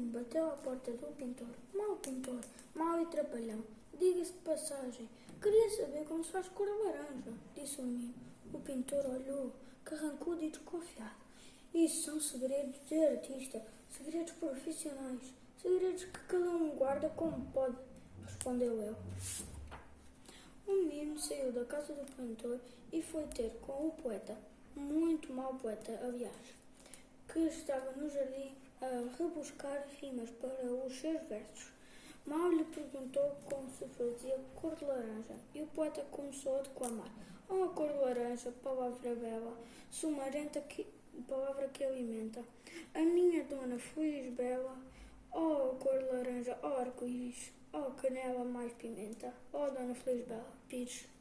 menino bateu à porta do pintor, mau e trapalhão. Diga-se de passagem, queria saber como se faz cor laranja, disse o menino. O pintor olhou, carrancudo e desconfiado. Isso são segredos de artista, segredos profissionais, segredos que cada um guarda como pode, respondeu ele. O menino saiu da casa do pintor e foi ter com o poeta, muito mau poeta, aliás, que estava no jardim a rebuscar rimas para os seus versos. Mal lhe perguntou como se fazia cor de laranja, e o poeta começou a declamar. Oh, cor de laranja, palavra bela, sumarenta, palavra que alimenta. A minha dona feliz bela, oh, cor de laranja, oh, arco-íris, oh, canela mais pimenta, oh, dona feliz bela, pires.